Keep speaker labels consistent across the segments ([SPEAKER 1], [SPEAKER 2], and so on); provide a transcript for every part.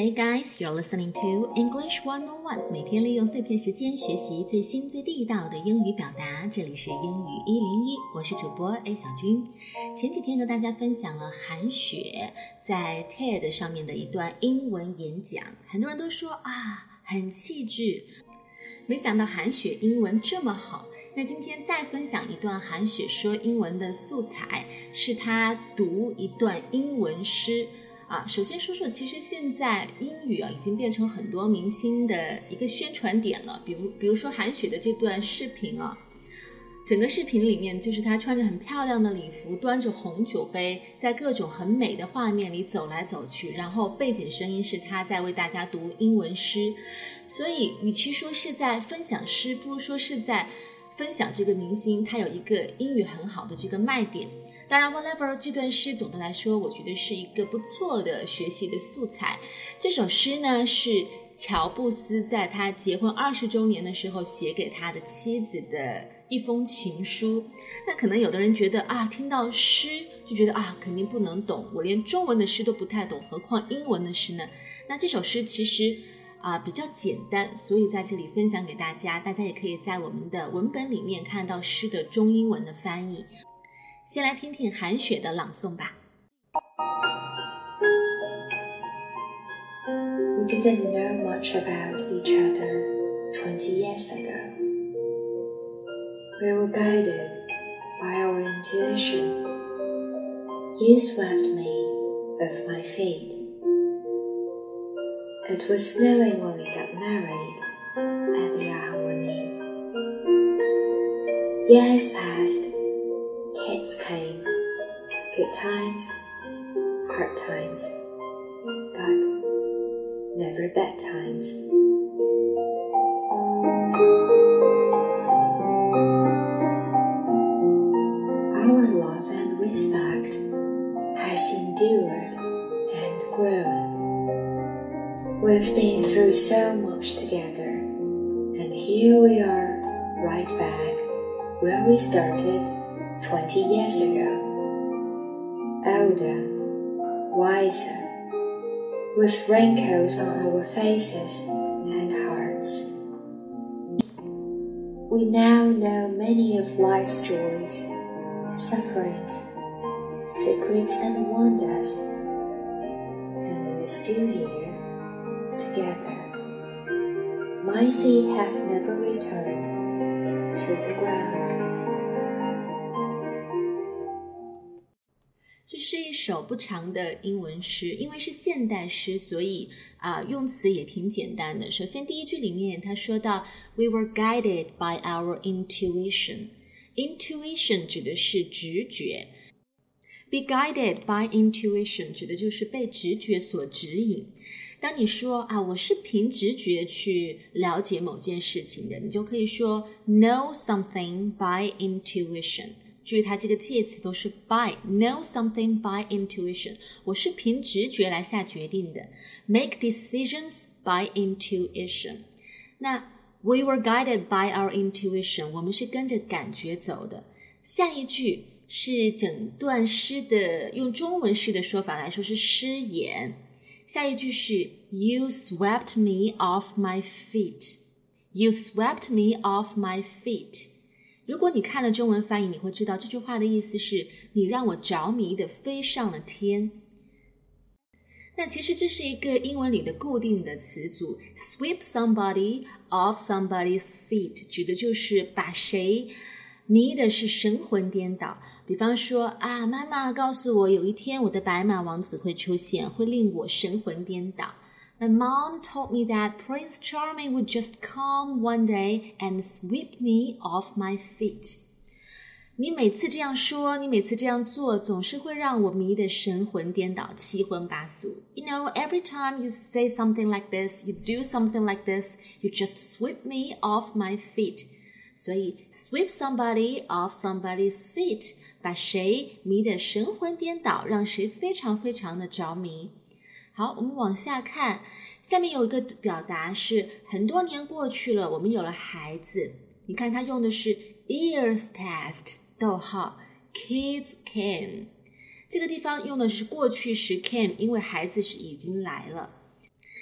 [SPEAKER 1] Hey guys, you're listening to English 101. 每天利用碎片时间学习最新最地道的英语表达。这里是英语101，我是主播 A 小军。前几天和大家分享了韩雪在 TED 上面的一段英文演讲，很多人都说很气质。没想到韩雪英文这么好。那今天再分享一段韩雪说英文的素材，是她读一段英文诗。首先说说，其实现在英语已经变成很多明星的一个宣传点了。比如说韩雪的这段视频整个视频里面就是她穿着很漂亮的礼服，端着红酒杯，在各种很美的画面里走来走去，然后背景声音是她在为大家读英文诗。所以与其说是在分享诗，不如说是在分享这个明星他有一个英语很好的这个卖点。当然 whatever 这段诗总的来说我觉得是一个不错的学习的素材。这首诗呢是乔布斯在他结婚20周年的时候写给他的妻子的一封情书。那可能有的人觉得听到诗就觉得肯定不能懂，我连中文的诗都不太懂，何况英文的诗呢？那这首诗其实比较简单，所以在这里分享给大家，大家也可以在我们的文本里面看到诗的中英文的翻译。先来听听韩雪的朗诵吧。
[SPEAKER 2] We didn't know much about each other 20 years ago. We were guided by our intuition. You swept me off my feet. It was snowing when we got married at the Ahwahnee. Years passed, kids came, good times, hard times, but never bad times. Our love and respect has endured and grown.We've been through so much together, and here we are, right back where we started 20 years ago. Older, wiser, with wrinkles on our faces and hearts. We now know many of life's joys, sufferings, secrets and wonders, and we're still here.Together, my feet have never returned to the ground.
[SPEAKER 1] 这是一首不长的英文诗，因为是现代诗，所以用词也挺简单的。首先第一句里面他说到 We were guided by our intuition. Intuition 指的是直觉， Be guided by intuition 指的就是被直觉所指引。当你说我是凭直觉去了解某件事情的，你就可以说 know something by intuition。 注意它这个介词都是 by， know something by intuition， 我是凭直觉来下决定的， make decisions by intuition。 那 we were guided by our intuition， 我们是跟着感觉走的。下一句是整段诗的，用中文诗的说法来说是诗言。下一句是 You swept me off my feet. You swept me off my feet. 如果你看了中文翻译，你会知道这句话的意思是你让我着迷的飞上了天。那其实这是一个英文里的固定的词组， sweep somebody off somebody's feet 指的就是把谁迷的是神魂颠倒。比方说妈妈告诉我有一天我的白马王子会出现，会令我神魂颠倒。My mom told me that Prince Charming would just come one day and sweep me off my feet. 你每次这样说，你每次这样做，总是会让我迷得神魂颠倒，七荤八素。You know, every time you say something like this, you do something like this, you just sweep me off my feet. 所以 sweep somebody off somebody's feet， 把谁迷得神魂颠倒，让谁非常非常的着迷。好，我们往下看，下面有一个表达是很多年过去了，我们有了孩子。你看他用的是 years passed， 逗号 kids came， 这个地方用的是过去时 came， 因为孩子是已经来了。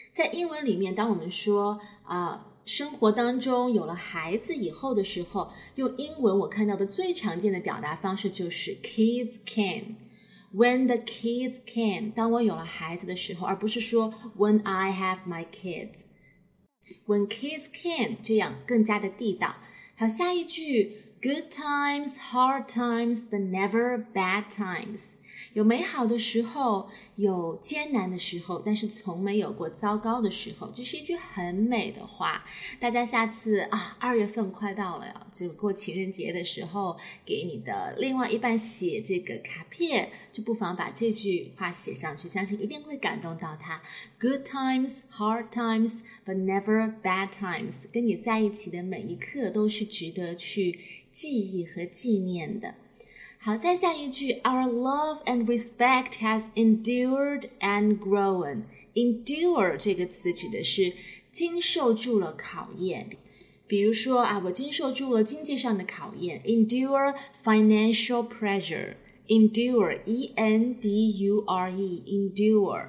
[SPEAKER 1] 在英文里面，当我们说生活当中有了孩子以后的时候，用英文我看到的最常见的表达方式就是 kids came。When the kids came， 当我有了孩子的时候，而不是说 when I have my kids。When kids came， 这样更加的地道。好，下一句 good times, hard times, but never bad times。有美好的时候，有艰难的时候，但是从没有过糟糕的时候，这是一句很美的话。大家下次2月份快到了呀，这个过情人节的时候，给你的另外一半写这个卡片，就不妨把这句话写上去，相信一定会感动到他。Good times, hard times, but never bad times。跟你在一起的每一刻都是值得去记忆和纪念的。好，再下一句 Our love and respect has endured and grown。 Endure 这个词指的是经受住了考验，比如说我经受住了经济上的考验， Endure financial pressure。 Endure E-N-D-U-R-E Endure。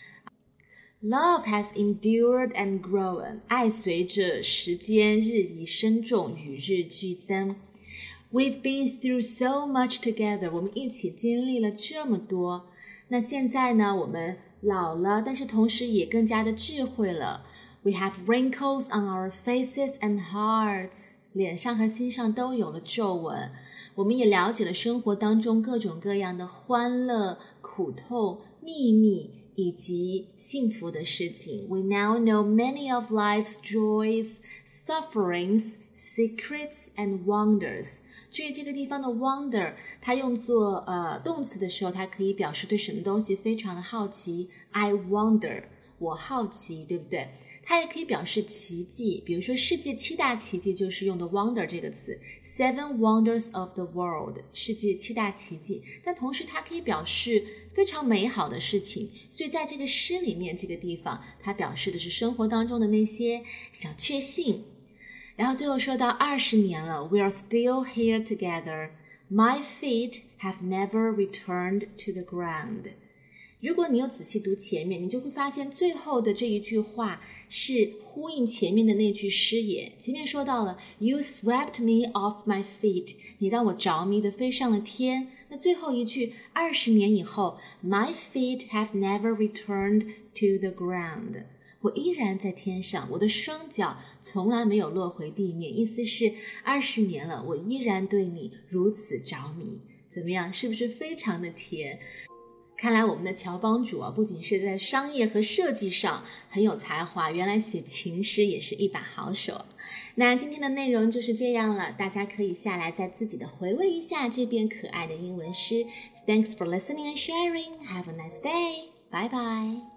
[SPEAKER 1] Love has endured and grown。 爱随着时间日益深重，与日俱增。We've been through so much together。 我们一起经历了这么多。那现在呢，我们老了，但是同时也更加的智慧了。We have wrinkles on our faces and hearts。 脸上和心上都有了皱纹。我们也了解了生活当中各种各样的欢乐、苦痛、秘密以及幸福的事情。 We now know many of life's joys, sufferings, secrets and wonders。 注意这个地方的 wonder， 它用作动词的时候，它可以表示对什么东西非常的好奇。 I wonder， 我好奇，对不对？它也可以表示奇迹，比如说世界7大奇迹就是用的 wonder 这个词。 Seven wonders of the world， 世界7大奇迹。但同时它可以表示非常美好的事情，所以在这个诗里面这个地方，它表示的是生活当中的那些小确幸。然后最后说到20年了， We are still here together. My feet have never returned to the ground。 如果你有仔细读前面，你就会发现最后的这一句话是呼应前面的那句诗也。前面说到了 You swept me off my feet， 你让我着迷的飞上了天。那最后一句20年以后 My feet have never returned to the ground，我依然在天上，我的双脚从来没有落回地面。意思是20年了，我依然对你如此着迷。怎么样，是不是非常的甜？看来我们的乔帮主不仅是在商业和设计上很有才华，原来写情诗也是一把好手。那今天的内容就是这样了，大家可以下来再自己的回味一下这篇可爱的英文诗。Thanks for listening and sharing. Have a nice day. Bye bye.